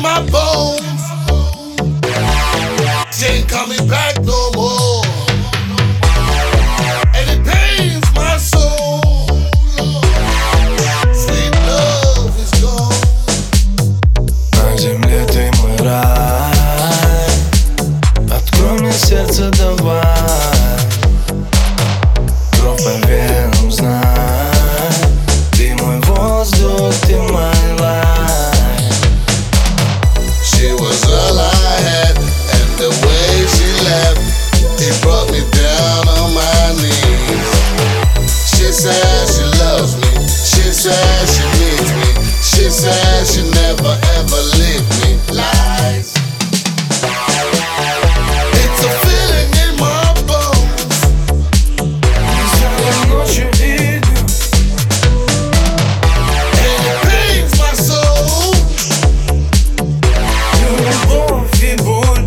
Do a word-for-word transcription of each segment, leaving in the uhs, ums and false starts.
my bones. She ain't coming back no more. And it pains my soul. Sweet love is gone. На земле ты мой рай. Открой мне сердце, давай. Кровь по венам, знай. Ты мой воздух, ты мой life. She was all I had, and the way she left, it brought me down on my knees. She said she loves me, she said she needs me, she said she never ever leave me. Lies. It's a feeling in my bones. Веселой ночью идем. And it pains my soul. Любовь и боль.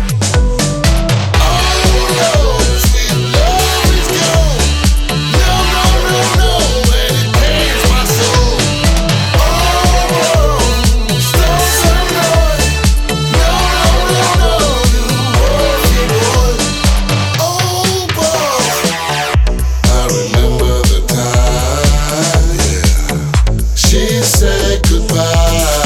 Oh no, sweet love is gone. No, no, no, no, and it pains my soul. Oh no, stop some noise. No, no, no, no, любовь и боль. Oh boy, I remember the time, yeah. She said goodbye.